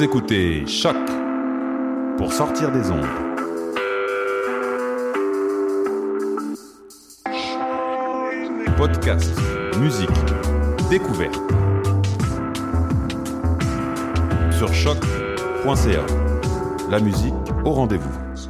Vous écoutez Choc pour sortir des ondes. Podcast, musique, découverte. Sur choc.ca. La musique au rendez-vous.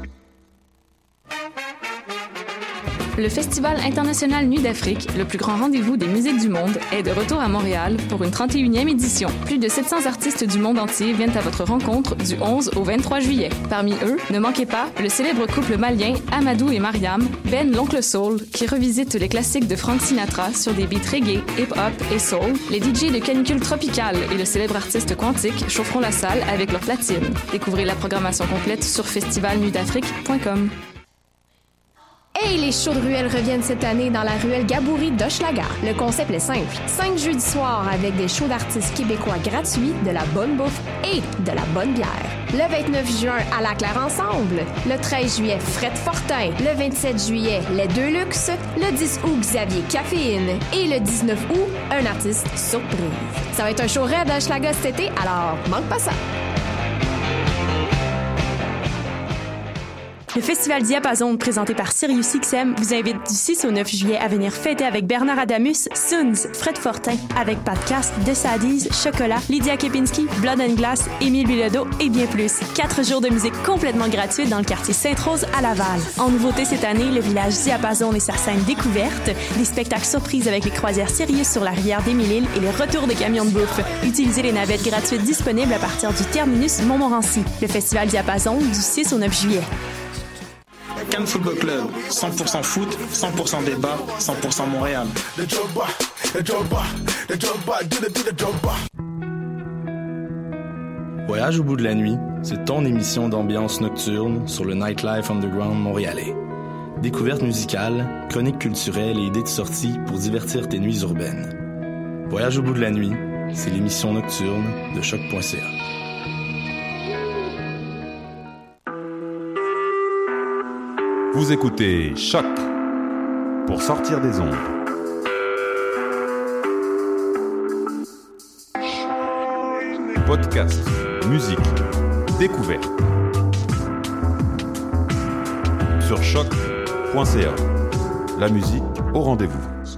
Le Festival international Nuit d'Afrique, le plus grand rendez-vous des musiques du monde, est de retour à Montréal pour une 31e édition. Plus de 700 artistes du monde entier viennent à votre rencontre du 11 au 23 juillet. Parmi eux, ne manquez pas le célèbre couple malien Amadou et Mariam, Ben l'Oncle Soul, qui revisite les classiques de Frank Sinatra sur des beats reggae, hip-hop et soul. Les DJ de Canicule Tropicale et le célèbre artiste Quantique chaufferont la salle avec leur platine. Découvrez la programmation complète sur festivalnuitdafrique.com. Hey, les shows de ruelle reviennent cette année dans la ruelle Gaboury d'Hochelaga. Le concept est simple. 5 jeudis soirs avec des shows d'artistes québécois gratuits, de la bonne bouffe et de la bonne bière. Le 29 juin, à la Claire Ensemble. Le 13 juillet, Fred Fortin. Le 27 juillet, Les Deux Luxe. Le 10 août, Xavier Caféine. Et le 19 août, un artiste surprise. Ça va être un show raide à Hochelaga cet été, alors manque pas ça. Le Festival Diapason, présenté par SiriusXM, vous invite du 6 au 9 juillet à venir fêter avec Bernard Adamus, Soons, Fred Fortin, avec Podcast, The Sadies, Chocolat, Lydia Kepinski, Blood and Glass, Émile Bilodeau et bien plus. 4 jours de musique complètement gratuite dans le quartier Sainte-Rose à Laval. En nouveauté cette année, le village Diapason et sa scène découverte, des spectacles surprises avec les croisières Sirius sur la rivière d'Émile-Île et les retours de camions de bouffe. Utilisez les navettes gratuites disponibles à partir du terminus Montmorency. Le Festival Diapason du 6 au 9 juillet. Cannes Football Club, 100% foot, 100% débat, 100% Montréal. Voyage au bout de la nuit, c'est ton émission d'ambiance nocturne sur le Nightlife Underground montréalais. Découvertes musicales, chroniques culturelles et idées de sortie pour divertir tes nuits urbaines. Voyage au bout de la nuit, c'est l'émission nocturne de choc.ca. Vous écoutez Choc pour sortir des ondes. Podcast, musique, découverte. Sur choc.ca. La musique au rendez-vous.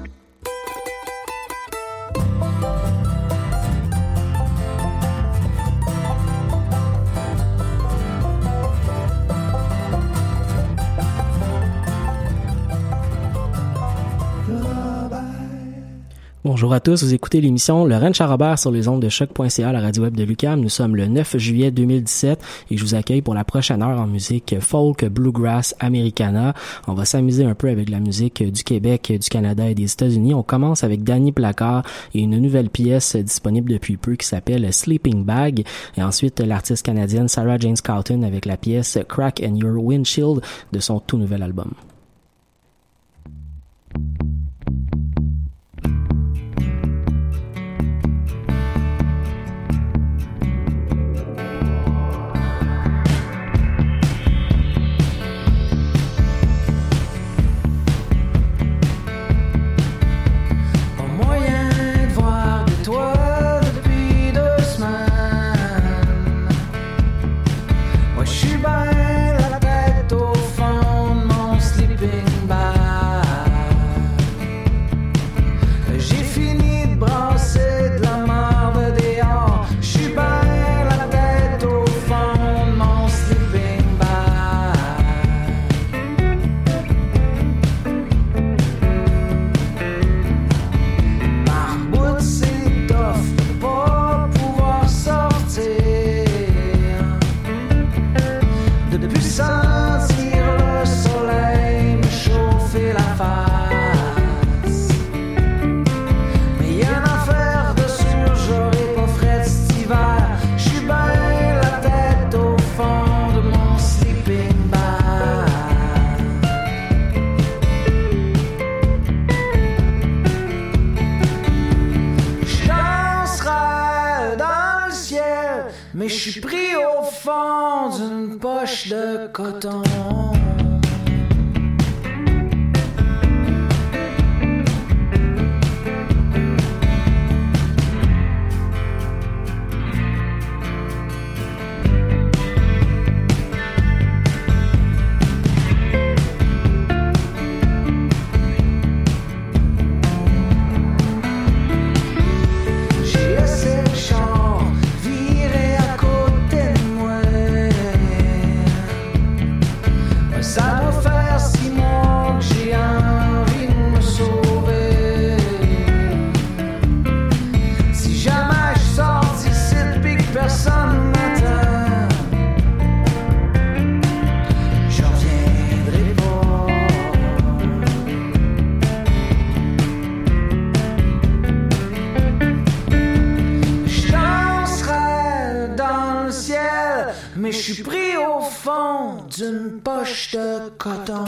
Bonjour à tous, vous écoutez l'émission Le Ranch à Robert sur les ondes de choc.ca, la radio web de l'UQAM. Nous sommes le 9 juillet 2017 et je vous accueille pour la prochaine heure en musique folk, bluegrass, americana. On va s'amuser un peu avec la musique du Québec, du Canada et des États-Unis. On commence avec Danny Placard et une nouvelle pièce disponible depuis peu qui s'appelle Sleeping Bag. Et ensuite, l'artiste canadienne Sarah Jane Scouten avec la pièce Crack in Your Windshield de son tout nouvel album. mais je suis pris au fond d'une poche de coton. d'une poche de coton.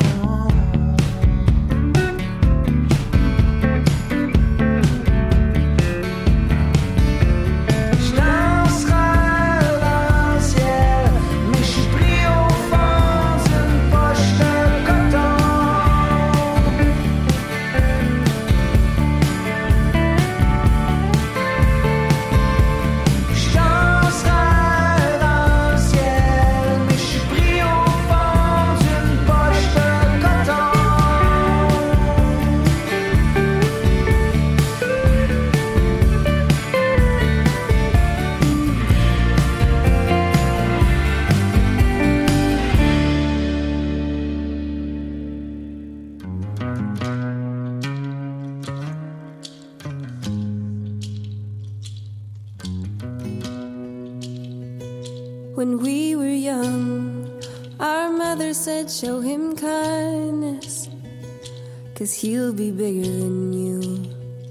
When we were young, our mother said, show him kindness, 'cause he'll be bigger than you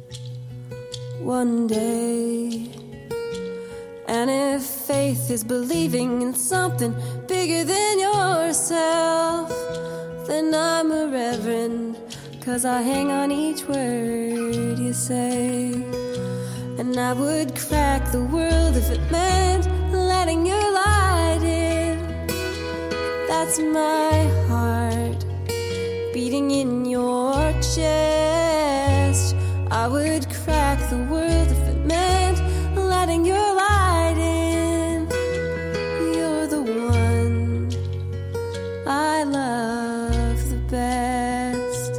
one day. And if faith is believing in something bigger than yourself, then I'm a reverend, 'cause I hang on each word you say. And I would crack the world if it meant letting your light in. That's my heart beating in your chest. I would crack the world if it meant letting your light in. You're the one I love the best.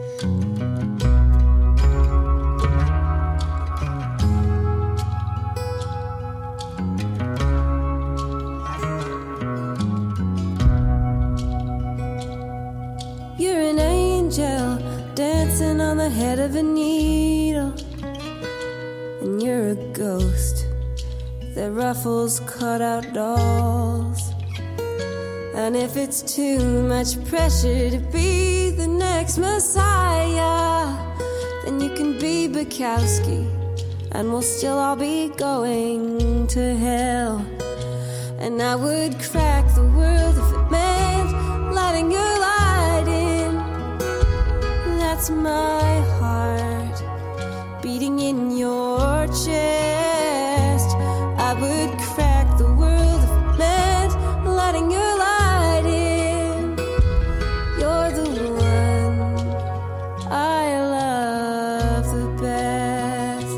You're an angel dancing on the head of a needle, and you're a ghost that ruffles cutout dolls. And if it's too much pressure to be the next Messiah, then you can be Bukowski, and we'll still all be going to hell. And I would crack the world if it meant letting your light in. That's my heart beating in your chest. I would crack the world if it meant letting your light in. You're the one I love the best.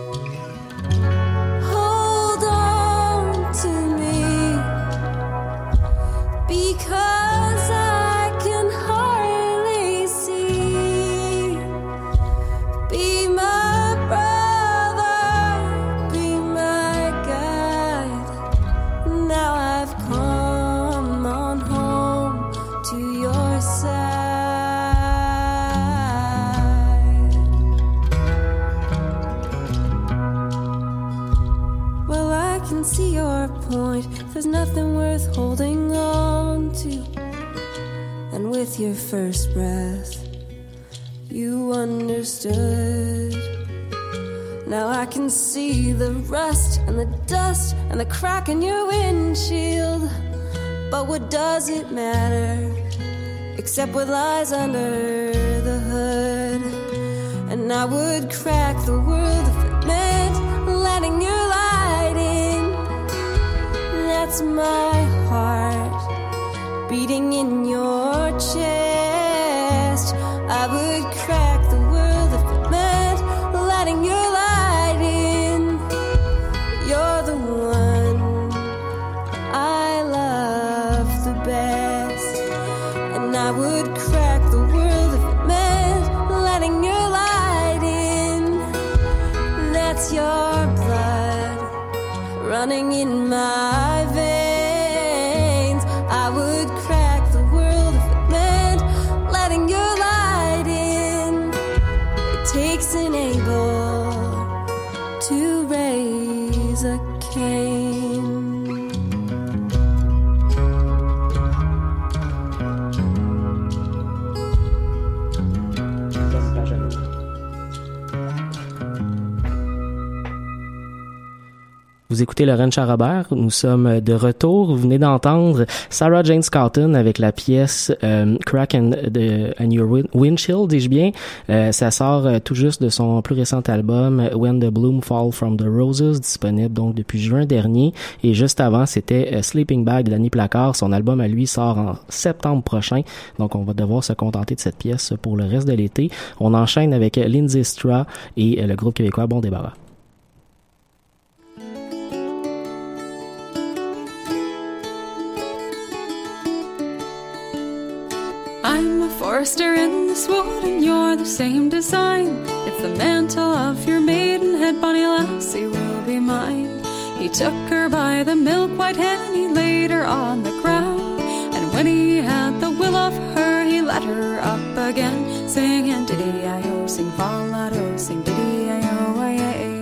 Hold on to me, because I can hardly see. Be my brother, be my guide. Now I've come on home to your side. Well, I can see your point. There's nothing worth holding on to. And with your first breath, you understood. Now I can see the rust and the dust and the crack in your windshield. But what does it matter, except what lies under the hood? And I would crack the world if it meant letting your light in. That's my heart beating in your chest. I would crack the world if it meant letting your light in. You're the one I love the best. And I would crack the world if it meant letting your light in. That's your blood running in my veins. I would crack the world if it meant letting your light in. It takes an Abel to raise a Cain. Vous vous écoutez le Ranch à Robert. Nous sommes de retour. Vous venez d'entendre Sarah Jane Scouten avec la pièce Crack and Your Windshield, dis-je bien. Ça sort tout juste de son plus récent album When the Bloom Fall from the Roses, disponible donc depuis juin dernier. Et juste avant, c'était Sleeping Bag de Danny Placard. Son album à lui sort en septembre prochain. Donc on va devoir se contenter de cette pièce pour le reste de l'été. On enchaîne avec Lindsay Stra et le groupe québécois Bon Débarras. I'm a forester in this wood and you're the same design. If the mantle of your maidenhead, bonny lassie, will be mine. He took her by the milk-white head and he laid her on the ground. And when he had the will of her, he let her up again, singing diddy-I-O, sing fall-la-do, sing diddy-I-O-I-A.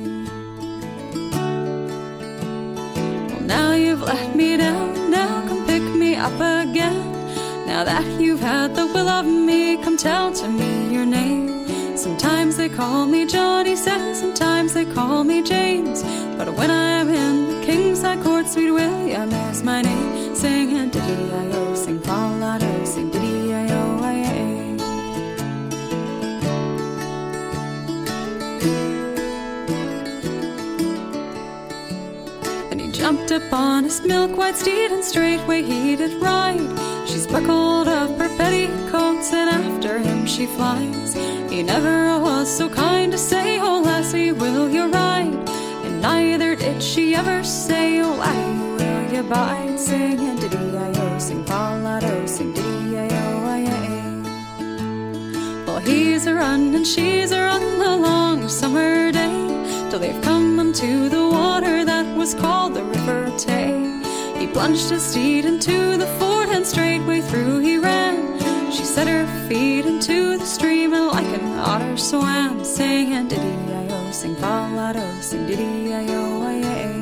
Well, now you've let me down, now come pick me up again. Now that you've had the will of me, come tell to me your name. Sometimes they call me John, he says, sometimes they call me James. But when I'm in the King's High Court, sweet William is my name. Singing diddy-I-O, sing fall-la-do, sing diddy-I-O-I-A. Then he jumped upon his milk-white steed and straightway he did ride. She's buckled up her petticoats and after him she flies. He never was so kind to say, oh lassie, will you ride? And neither did she ever say, oh laddie, will you bide? Singing diddy-I-O, sing fall-la-do, sing diddy-I-O-I-A. Well, he's a-run and she's a-run the long summer day, till they've come unto the water that was called the River Tay. He plunged his steed into the ford and straightway through he ran. She set her feet into the stream and like an otter swam, singing diddy-I-O, sing fall-la-do, sing diddy-I-O-I-A.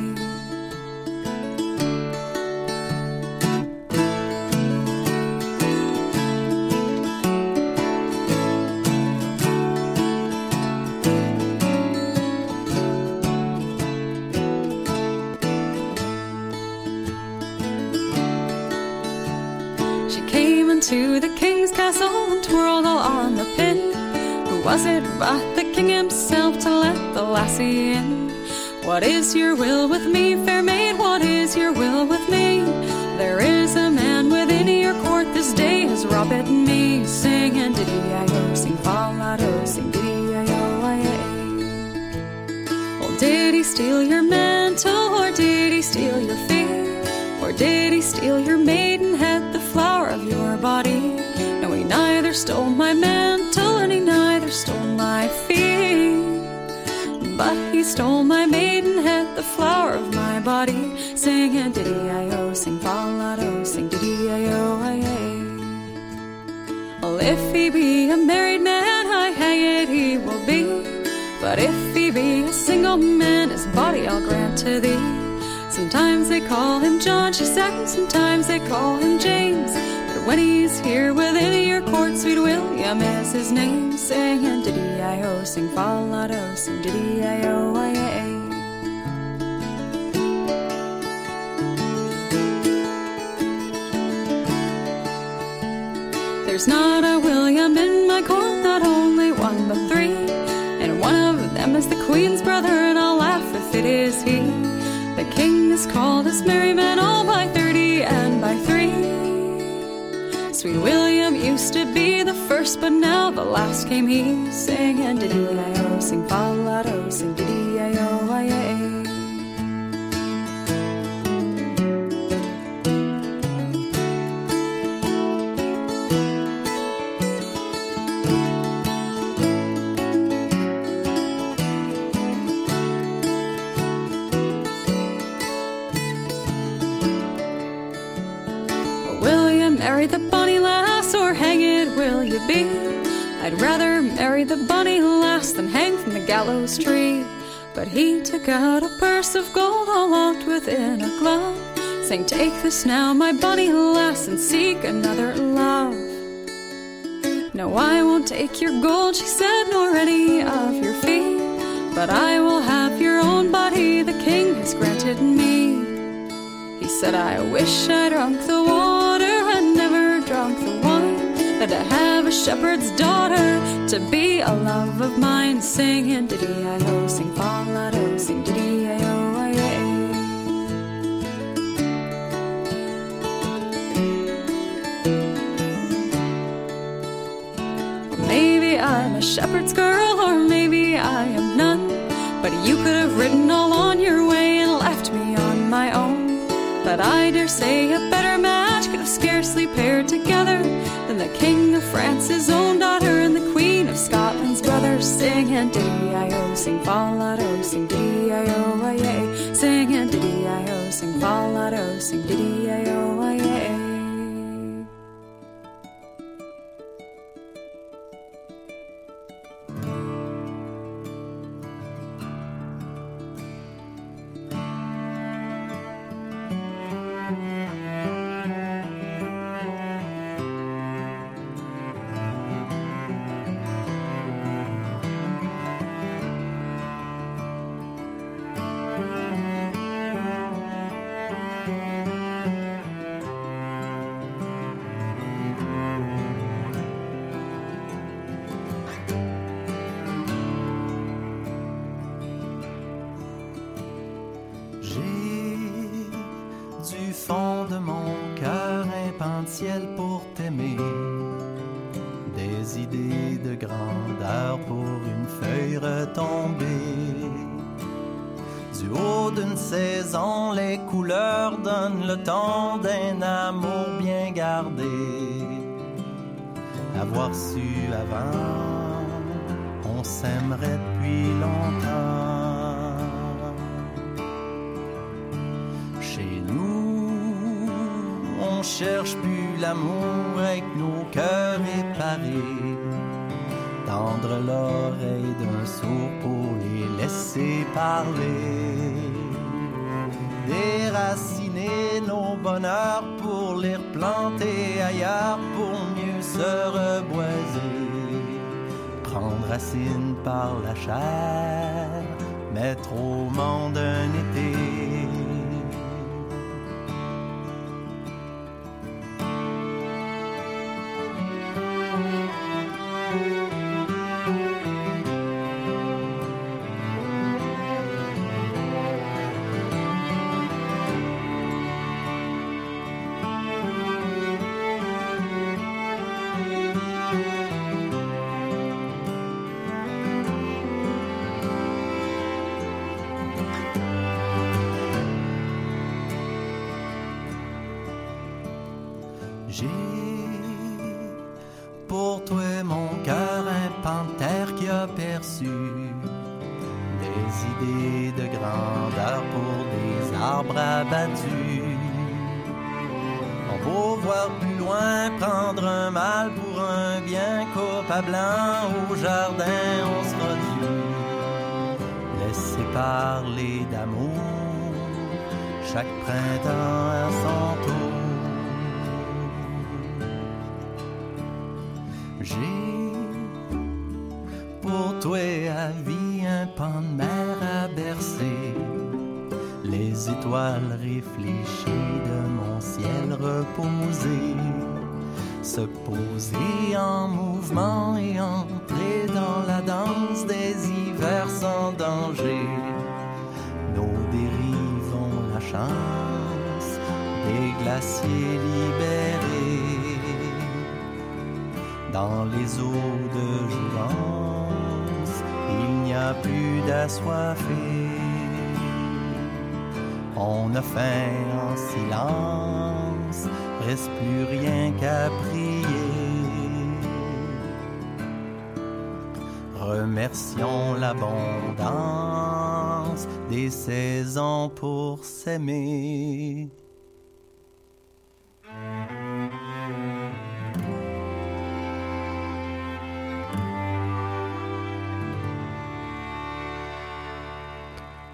To the king's castle and twirled all on the pin. Who was it but the king himself to let the lassie in? What is your will with me, fair maid? What is your will with me? There is a man within your court this day has robbed me, singing diddy-I-O, sing fall-la-do, sing diddy-I-O-I-A. Well, did he steal your mantle or did he steal your fear? Or did he steal your maidenhead, the flower of your body? No, he neither stole my mantle and he neither stole my feet, but he stole my maidenhead, the flower of my body, singing diddy-I-O, sing fall-la-do, sing diddy-I-O-I-A. Well, if he be a married man, I hang it he will be, but if he be a single man, his body I'll grant to thee. Sometimes they call him John, she said, sometimes they call him James. But when he's here within your court, sweet William is his name. Singing diddy-I-O, sing fall-la-do, sing diddy-I-O-I-A. There's not a William in my court, not only one but three. And one of them is the Queen's brother, and I'll laugh if it is he. The king is called his merry men, all by 30 and by 3. Sweet William used to be the first, but now the last came he. Singing diddy-I-O, sing fall-la-do, sing diddy-I-O-I-A. Marry the bonny lass or hang it will you be? I'd rather marry the bonny lass than hang from the gallows tree. But he took out a purse of gold all locked within a glove, saying, take this now, my bonny lass, and seek another love. No, I won't take your gold, she said, nor any of your fee, but I will have your own body the king has granted me. He said, I wish I drunk the water and never drunk the wine, that I have a shepherd's daughter to be a love of mine. Singing diddy-I-O, sing fa-la-do, sing diddy-I-O, I-ay. Maybe I'm a shepherd's girl, or maybe I am none, but you could have ridden all on your way and left me on my own. But I dare say a better match could have scarcely paired together than the King of France's own daughter and the Queen of Scotland's brother. Singing diddy-I-O, sing fa-la-do, sing diddy-I-O, I-ay. Singing diddy-I-O, sing fa-la-do, sing diddy-I-O, I-ay. Pour t'aimer, des idées de grandeur pour une feuille retombée. Du haut d'une saison, les couleurs donnent le ton d'un amour bien gardé. Avoir su avant, on s'aimerait depuis longtemps. Chez nous, on cherche plus l'amour avec nos cœurs éparés. Tendre l'oreille d'un sourd pour les laisser parler. Déraciner nos bonheurs pour les replanter ailleurs pour mieux se reboiser. Prendre racine par la chair, mettre au monde un été. J'ai pour toi mon cœur un panthère qui a perçu des idées de grandeur pour des arbres abattus. On peut voir plus loin, prendre un mal pour un bien, coupe à blanc au jardin on sera dû. Laisser parler d'amour, chaque printemps à son tour. J'ai pour toi à vie un pan de mer à bercer, les étoiles réfléchies de mon ciel reposé, se poser en mouvement et entrer dans la danse des hivers sans danger. Nos dérives ont la chance des glaciers libérés. Dans les eaux de jouvence, il n'y a plus d'assoiffés. On a faim en silence, reste plus rien qu'à prier. Remercions l'abondance des saisons pour s'aimer.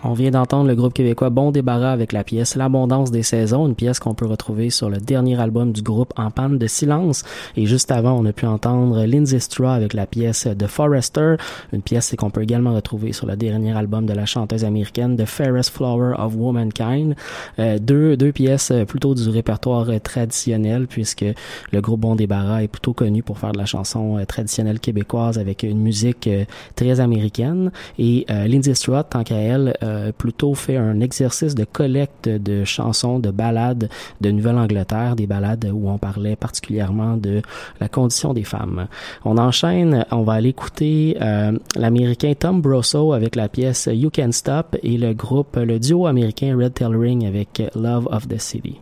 On vient d'entendre le groupe québécois Bon Débarras avec la pièce L'Abondance des saisons, une pièce qu'on peut retrouver sur le dernier album du groupe En panne de silence. Et juste avant, on a pu entendre Lindsay Straw avec la pièce The Forester, une pièce qu'on peut également retrouver sur le dernier album de la chanteuse américaine The Fairest Flower of Womankind. Deux pièces plutôt du répertoire traditionnel, puisque le groupe Bon Débarras est plutôt connu pour faire de la chanson traditionnelle québécoise avec une musique très américaine. Et Lindsay Straw, tant qu'à elle, plutôt fait un exercice de collecte de chansons, de ballades de Nouvelle-Angleterre, des ballades où on parlait particulièrement de la condition des femmes. On enchaîne, on va aller écouter l'américain Tom Brosso avec la pièce You Can Stop et le duo américain Red Tail Ring avec Love of the City.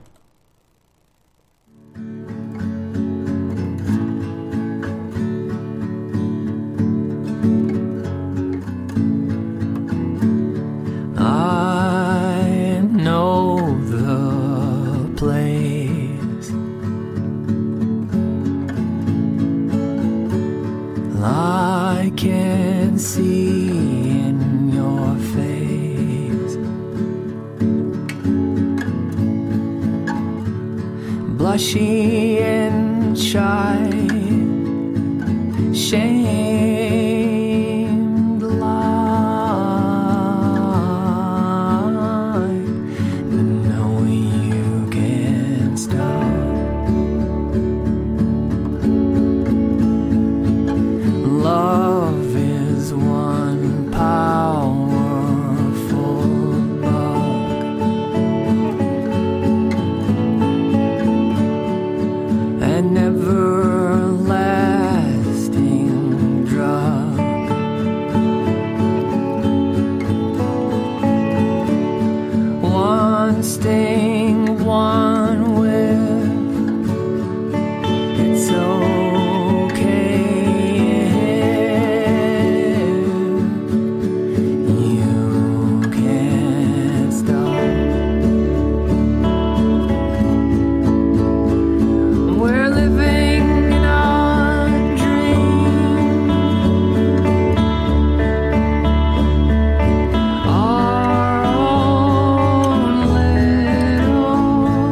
I know the place I can see in your face, blushy and shy, shamed like, knowing you can't stop. Love is one powerful bug, an everlasting drug. One sting, one whiff, it's okay. You can't stop. We're living in a dream, our own little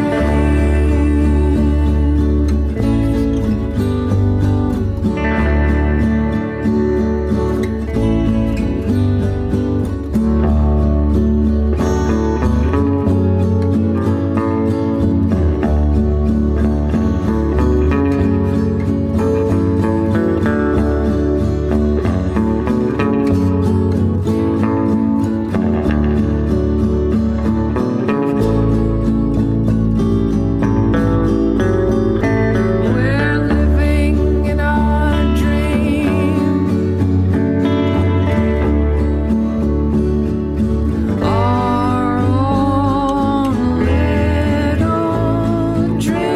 We're living in a dream, our own little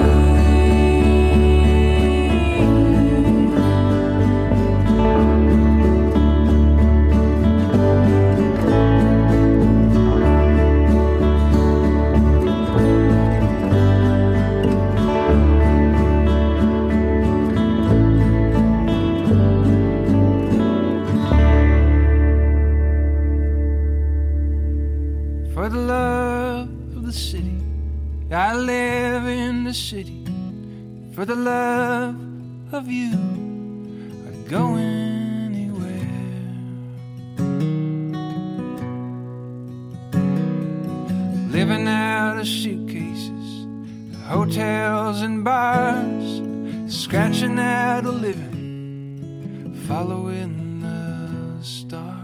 For the love of the city, I live in the city. For the love of you, I'd go anywhere. Living out of suitcases, hotels and bars, scratching out a living, following the stars.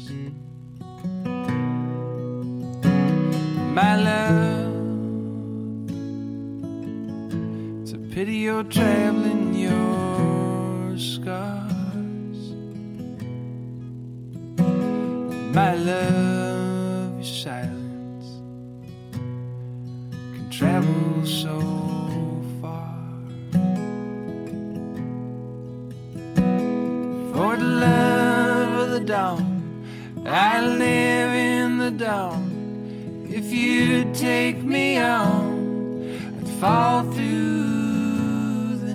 My love, it's a pity you're traveling your scars. My love, your silence can travel so far. For the love of the dawn, I live in the dawn. If you'd take me on, I'd fall through the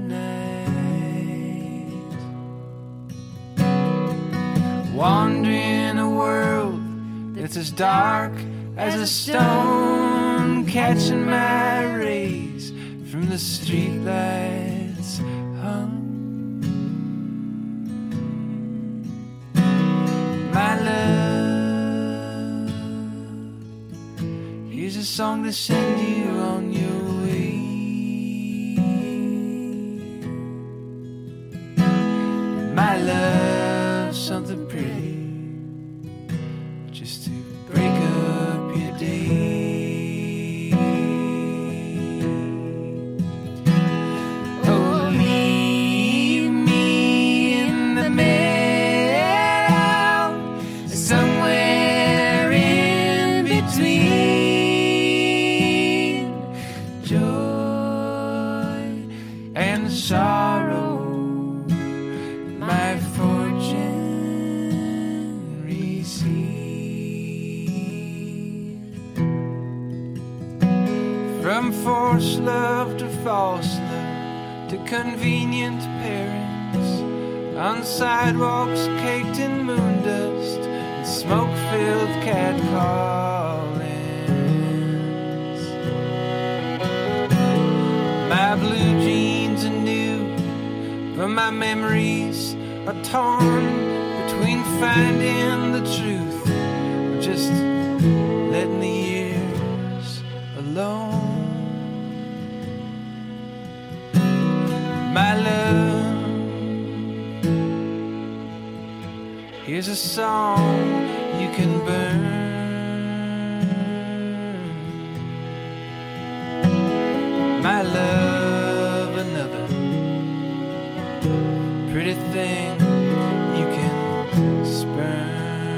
night. Wandering a world It's as dark as a stone, catching my rays from the streetlights hung. My love, here's a song to send you on your way. My love, something pretty, just to break up your day. Oh, leave me in the middle, somewhere in between joy and sorrow. My fortune received. From forced love to false love, to convenient pairings, on sidewalks caked in moon dust and smoke-filled catcallings. My blue jeans are new, but my memories are torn between finding the truth or just letting the years alone. My love, here's a song you can burn. My love, another pretty thing you can spurn.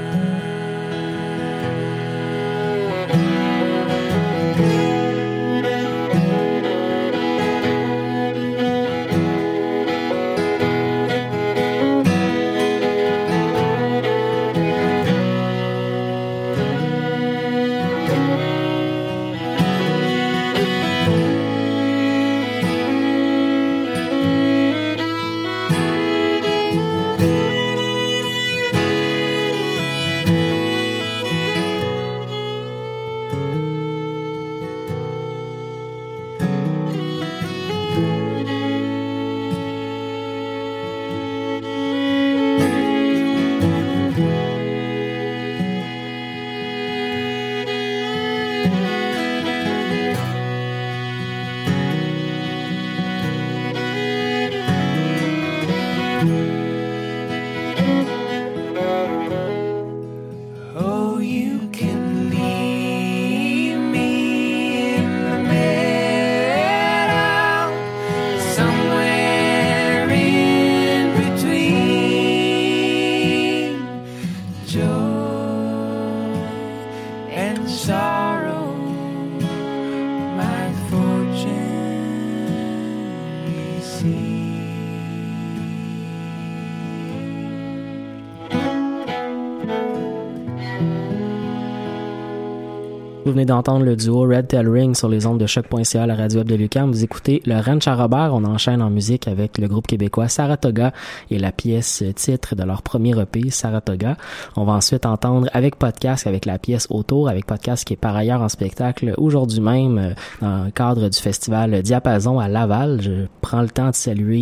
Vous venez d'entendre le duo Red Tail Ring sur les ondes de choc.ca à la radio web de l'UQAM. Vous écoutez le Ranch à Robert. On enchaîne en musique avec le groupe québécois Saratoga et la pièce titre de leur premier EP, Saratoga. On va ensuite entendre avec Podcast, avec la pièce Autour, avec Podcast qui est par ailleurs en spectacle aujourd'hui même dans le cadre du festival Diapason à Laval. Je prends le temps de saluer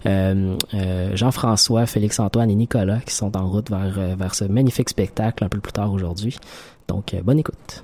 Jean-François, Félix-Antoine et Nicolas qui sont en route vers ce magnifique spectacle un peu plus tard aujourd'hui. Donc, bonne écoute.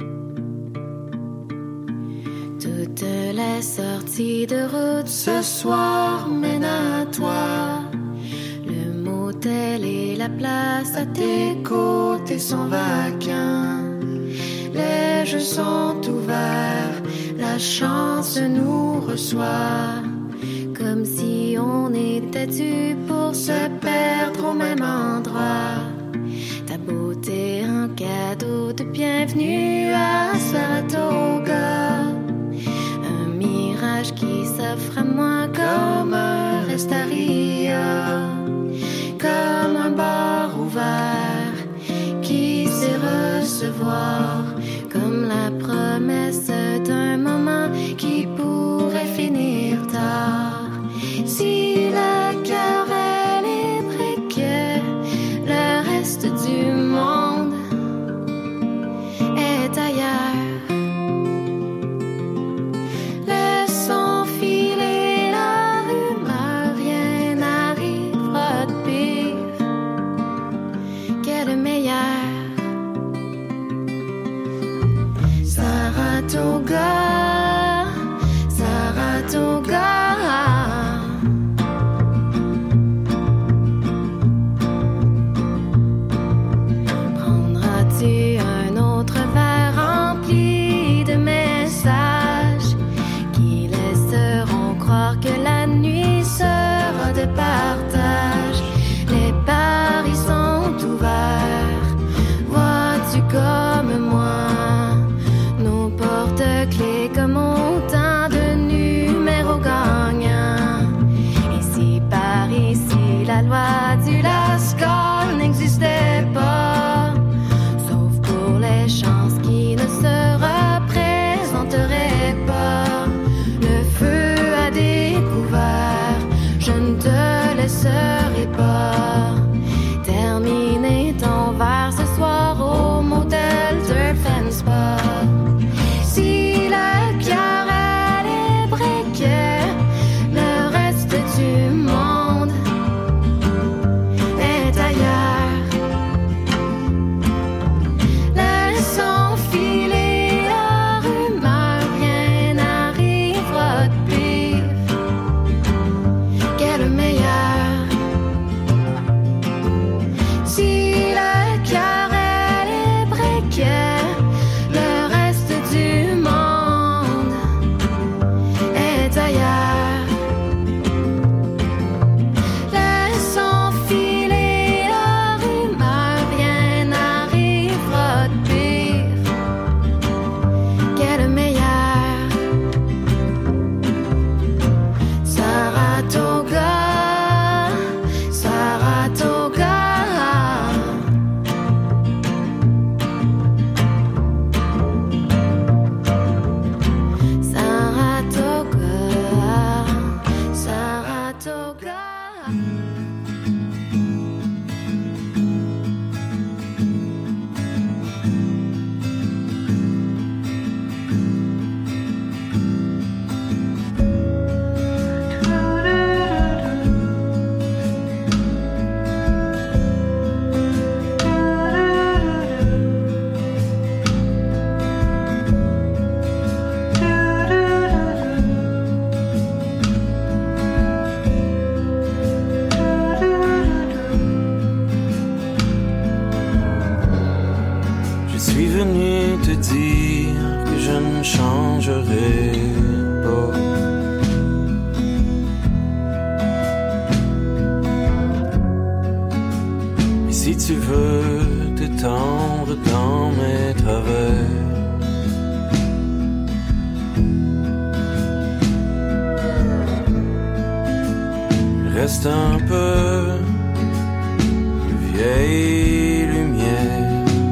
Toutes les sorties de route ce soir mènent à toi. Le motel et la place à tes côtés sont vacants. Les jeux sont ouverts, la chance nous reçoit. Comme si on était dû pour se perdre au même endroit. Ta beauté un cadeau de bienvenue à Saratoga. Un mirage qui s'offre à moi comme un restaria. Comme un bar ouvert qui sait recevoir. Comme la promesse d'un moment qui pourrait finir tard. Si le cœur est libre et que le reste du monde Si tu veux t'étendre dans mes travers, reste un peu de vieille lumière.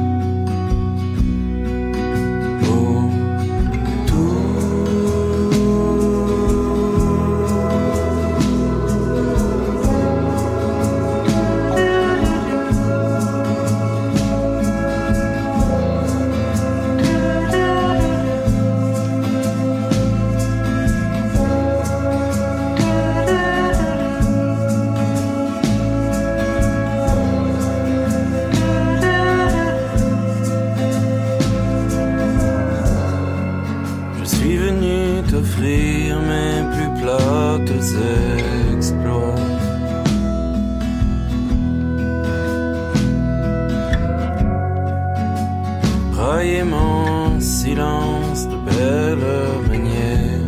Mes plus plates exploits. Brailler mon silence de belle manière.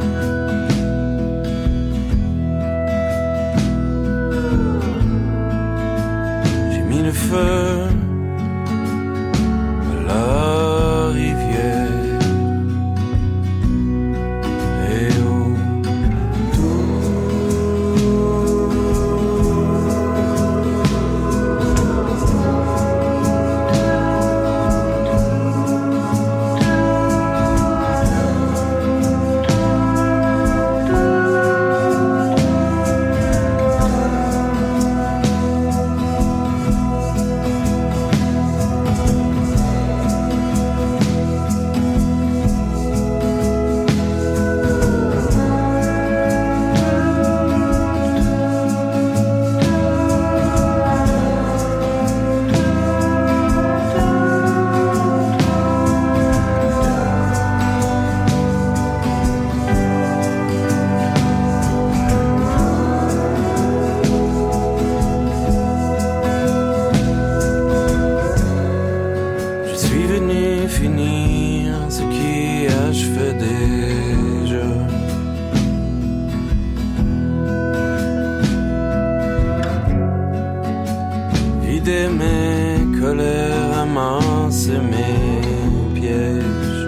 J'ai mis le feu à la rivière. Mes colères, amasser mes pièges.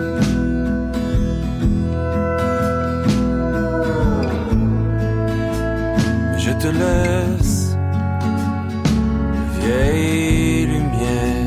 Je te laisse, vieille lumière.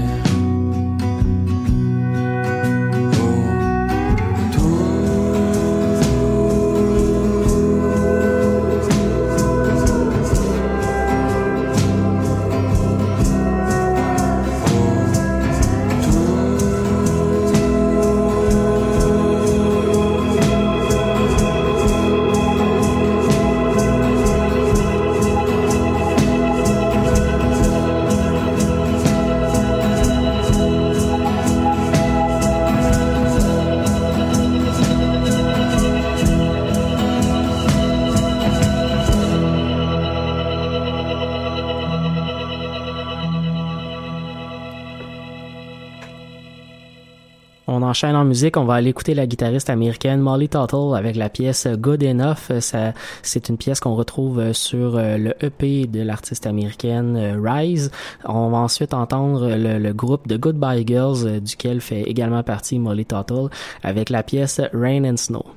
On enchaîne en musique, on va aller écouter la guitariste américaine Molly Tuttle avec la pièce Good Enough. C'est une pièce qu'on retrouve sur le EP de l'artiste américaine Rise. On va ensuite entendre le groupe The Goodbye Girls, duquel fait également partie Molly Tuttle, avec la pièce Rain and Snow.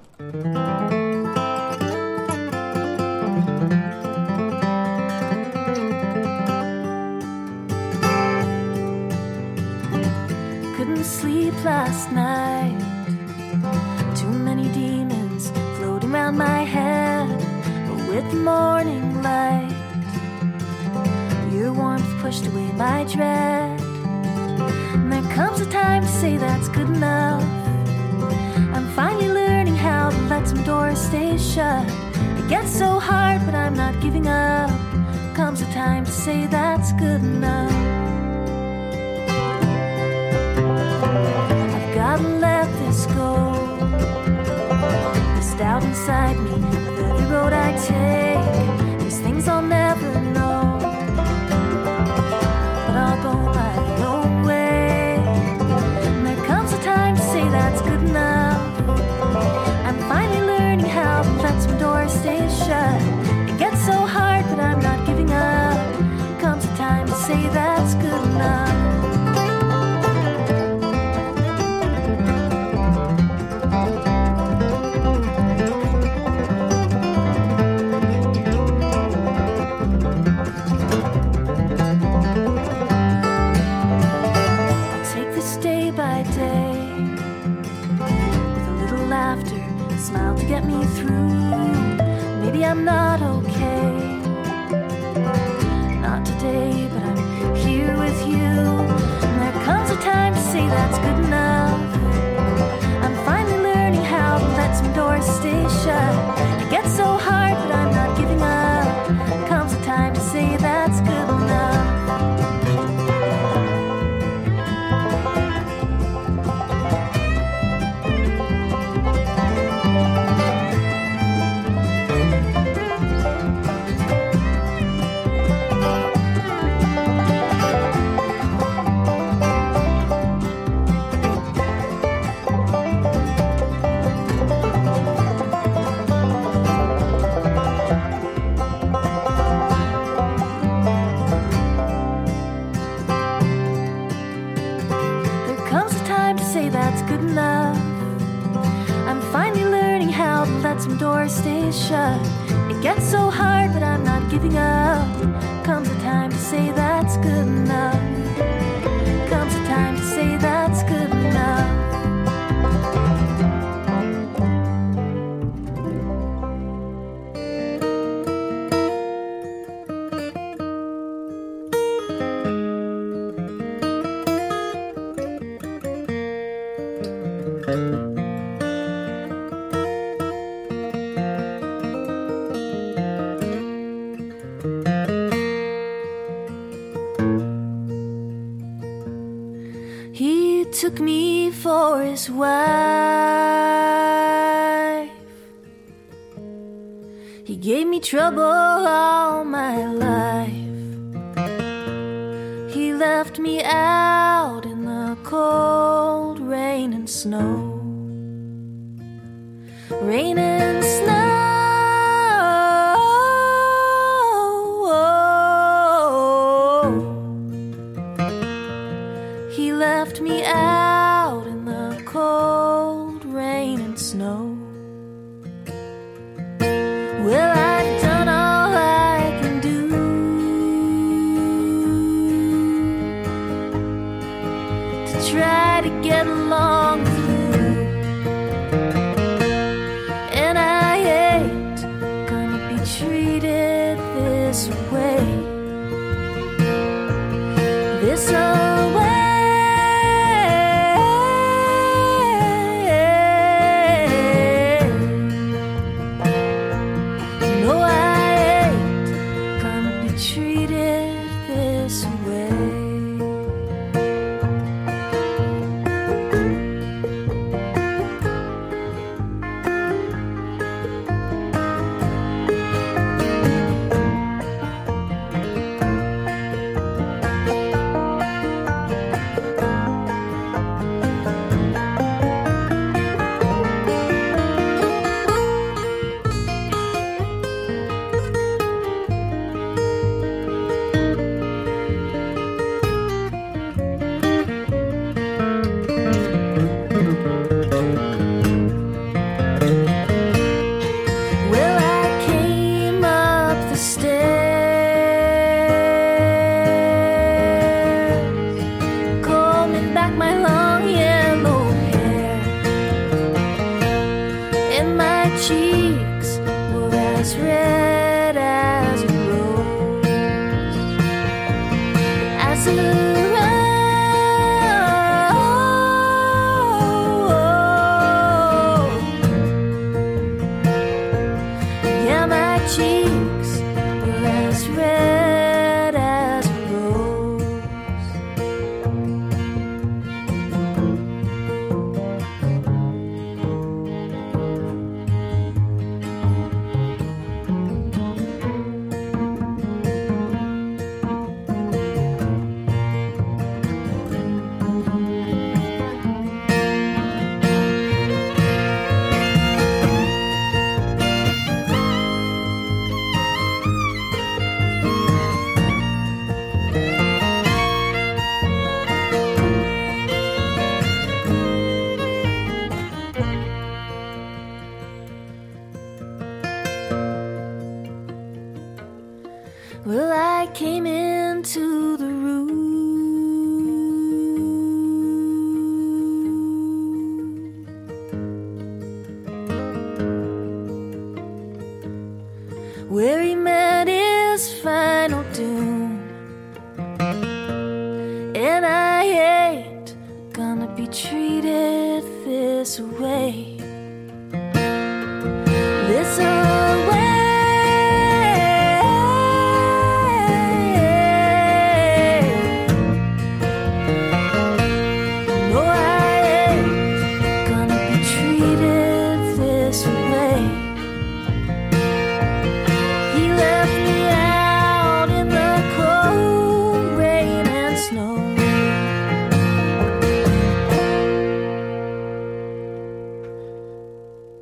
Sleep last night. Too many demons floating around my head, but with the morning light, your warmth pushed away my dread. And there comes a time to say that's good enough. I'm finally learning how to let some doors stay shut. It gets so hard, but I'm not giving up. Comes a time to say that's good enough. Gotta let this go. This doubt inside me, with every road I take, these things I'll never know. But I'll go my own way. And there comes a time to say that's good enough. I'm finally learning how to let some doors stay shut. It gets so hard, but I'm not giving up. Comes a time to say that's good. get me through. Maybe I'm not okay, not today, but I'm here with you. And there comes a time to say that's good enough. I'm finally learning how to let some doors stay shut. It gets so hard, but I'm not giving up. Comes a time to say that's good enough. Some doors stay shut. It gets so hard, but I'm not giving up. Comes a time to say that's good enough. Comes a time to say that's good enough. Took me for his wife. He gave me trouble all my life. He left me out in the cold rain and snow. Rain and snow. He left me out in the cold rain and snow. Well, I've done all I can do to try to get along with you, and I ain't gonna be treated this way, this way. Well, I came into the room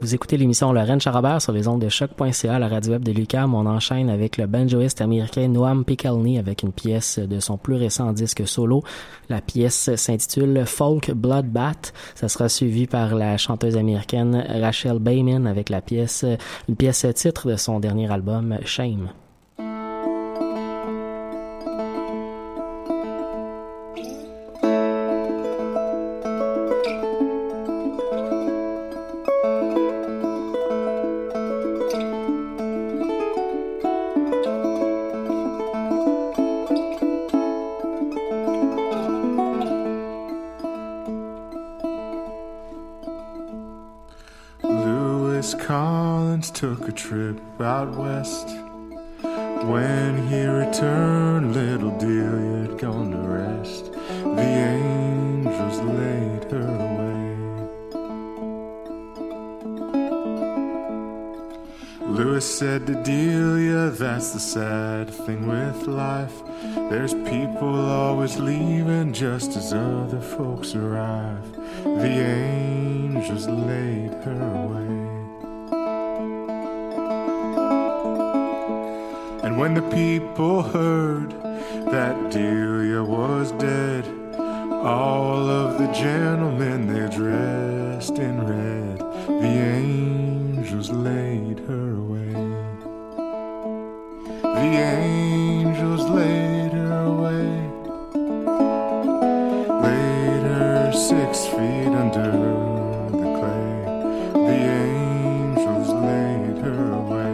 Vous écoutez l'émission Lorraine Charabert sur les ondes de choc.ca, la radio web de l'UQAM. On enchaîne avec le banjoiste américain Noam Pikelny avec une pièce de son plus récent disque solo. La pièce s'intitule Folk Bloodbath. Ça sera suivi par la chanteuse américaine Rachel Bayman avec une pièce titre de son dernier album Shame. Took a trip out west. When he returned, little Delia had gone to rest. The angels laid her away. Lewis said to Delia, that's the sad thing with life. There's people always leaving just as other folks arrive. The angels laid her away. And when the people heard that Delia was dead, all of the gentlemen, they dressed in red. The angels laid her away. The angels laid her away. Laid her 6 feet under the clay. The angels laid her away.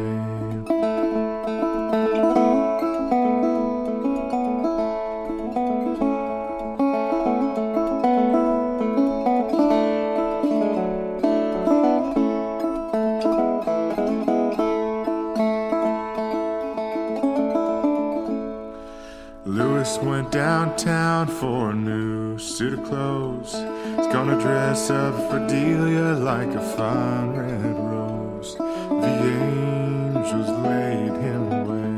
Went downtown for a new suit of clothes. He's gonna dress up for Delia like a fine red rose. The angels laid him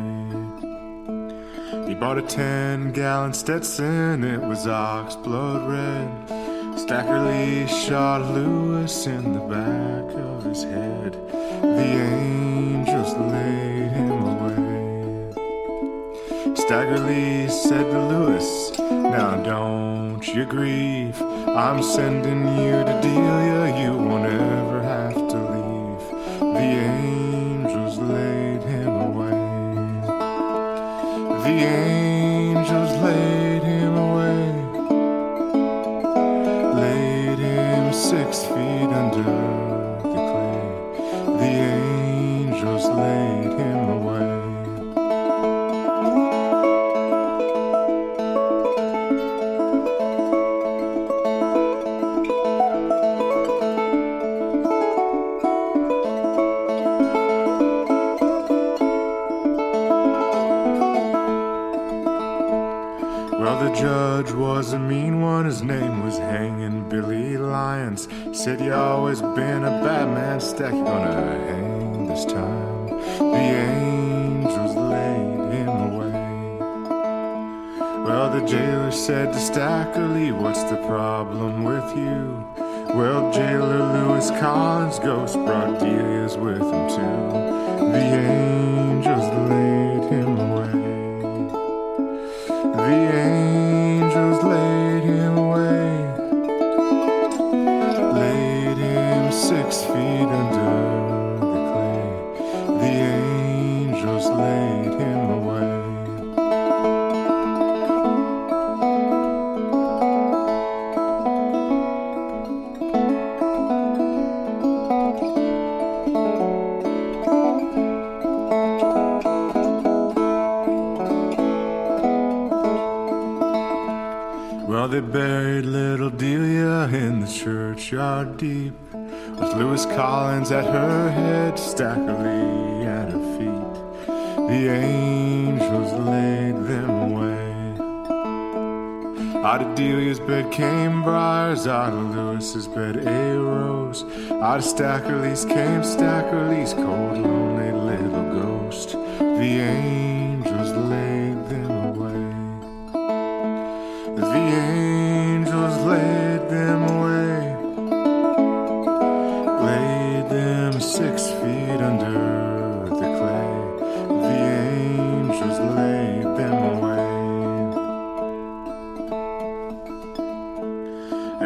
away. He bought a 10-gallon Stetson, it was ox blood red. Stacker Lee shot Lewis in the back of his head. The angels laid him away. Staggerly said to Lewis, now don't you grieve. I'm sending you to Delia, you won't ever have to leave. The angels laid him away. The angels laid him away. Laid him 6 feet under the clay. The angels laid him away. Judge was a mean one, his name was Hanging Billy Lyons. Said you always been a bad man, Stack, you're gonna hang this time. The angels laid him away. Well, the jailer said to Stackerly, what's the problem with you? Well, jailer Lewis Collins' ghost brought Delia's with him too. The angels laid him away. The angels laid him away. Laid him 6 feet under the clay. The angels laid him away. Well, they buried little Delia in the churchyard deep, with Lewis Collins at her head, Stackerly at her feet. The angels laid them away. Out of Delia's bed came briars, out of Lewis's bed a rose. Out of Stackerly's came Stackerly's cold, lonely little ghost. The angels laid them away. The angels laid them away. Laid them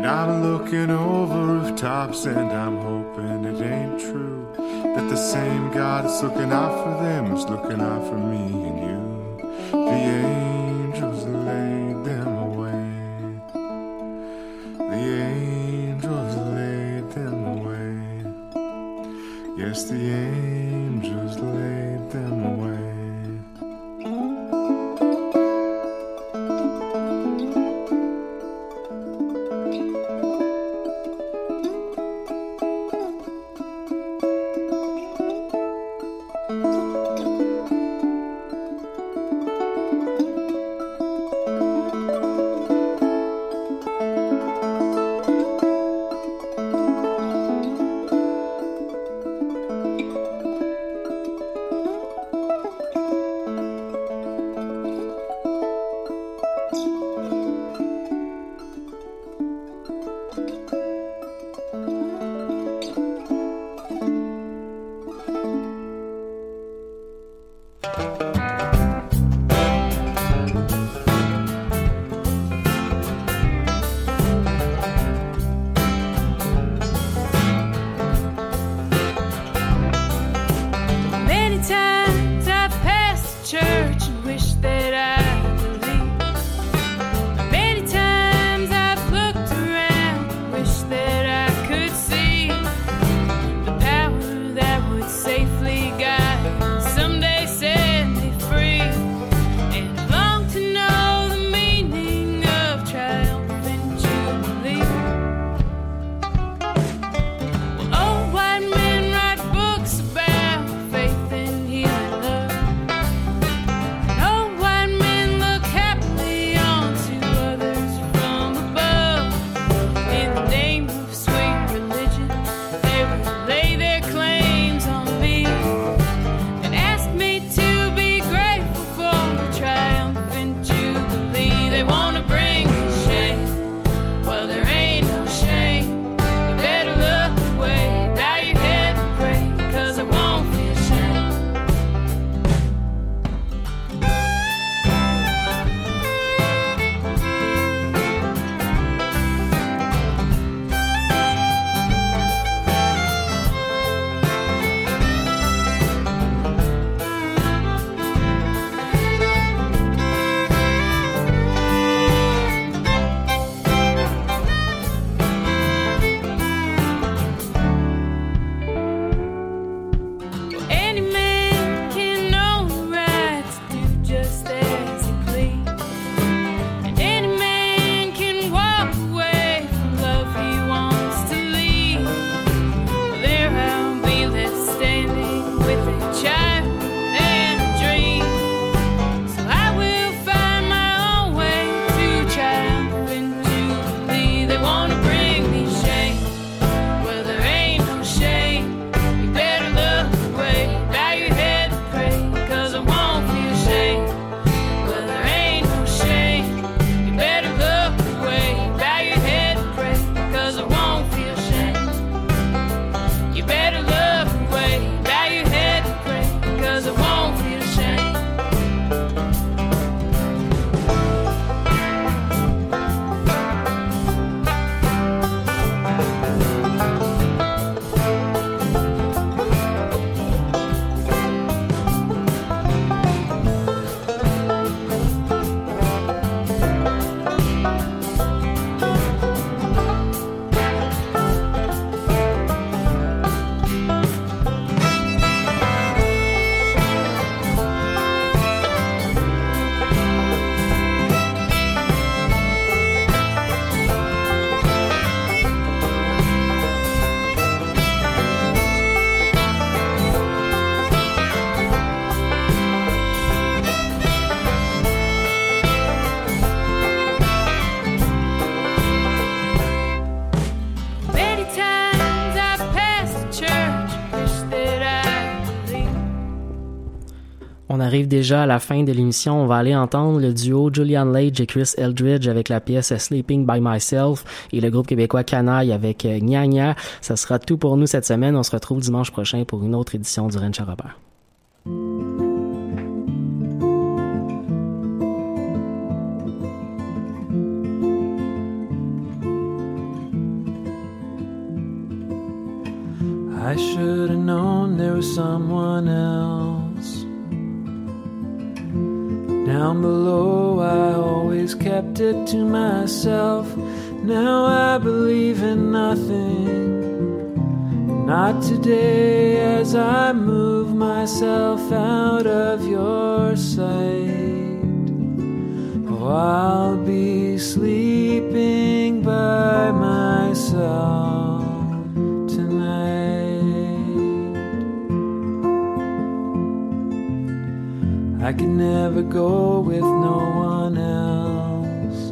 I'm looking over rooftops and I'm hoping it ain't true, that the same God that's looking out for them is looking out for me and you. The angels laid them away. The angels laid them away. Yes, the angels laid them away. On arrive déjà à la fin de l'émission. On va aller entendre le duo Julian Lage et Chris Eldridge avec la pièce Sleeping by Myself et le groupe québécois Canaille avec Gna Gna. Ça sera tout pour nous cette semaine. On se retrouve dimanche prochain pour une autre édition du Ranch à Robert. should have known there was someone else. Down below I always kept it to myself. Now I believe in nothing. Not today as I move myself out of your sight. Oh, I'll be sleeping by myself tonight. I could never go with no one else.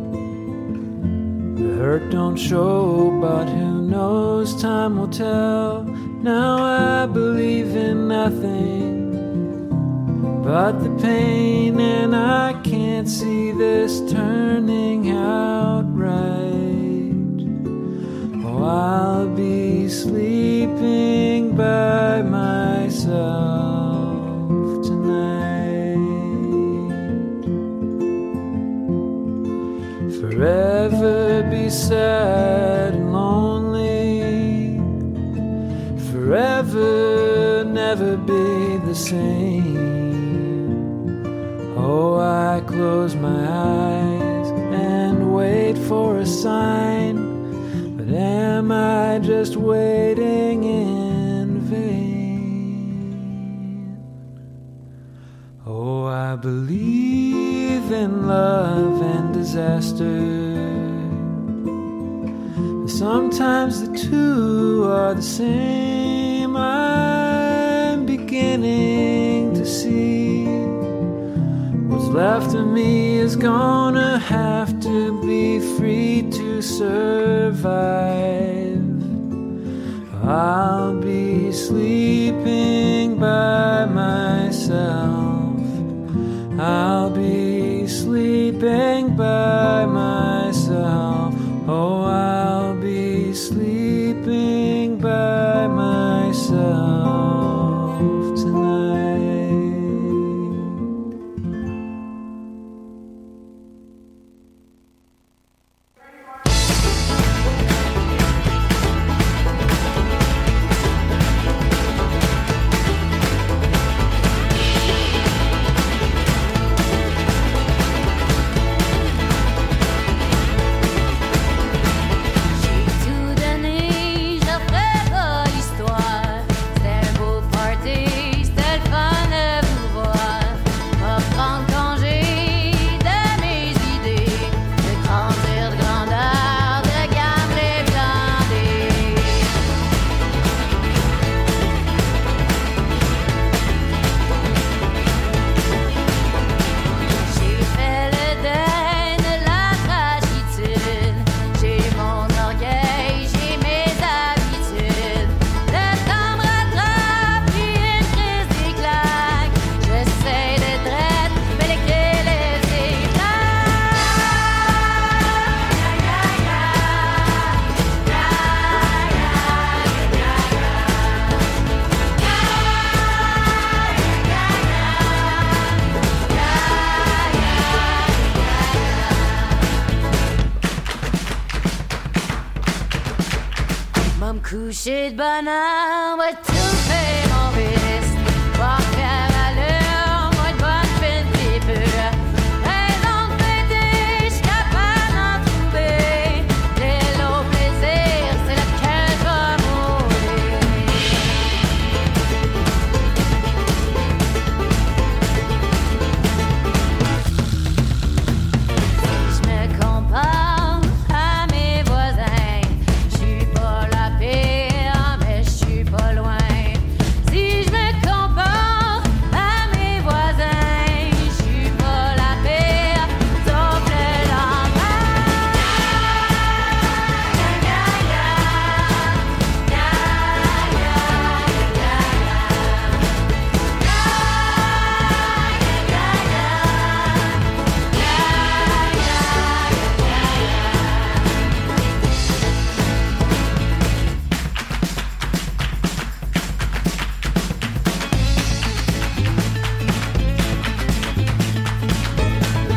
The hurt don't show, but who knows, time will tell. Now I believe in nothing but the pain, and I can't see this turning out right. Oh, I'll be sleeping by myself tonight. Forever be sad and lonely. Forever never be the same. Oh, I close my eyes and wait for a sign, but am I just waiting in vain? Oh, I believe in love and disaster. Sometimes the two are the same. I'm beginning to see what's left of me is gonna have to be free to survive. I'll be sleeping by myself. I'll be sleeping by myself. Oh, I'll be sleeping by myself tonight. Coucher de bonheur, ouais, tout fait mon rire.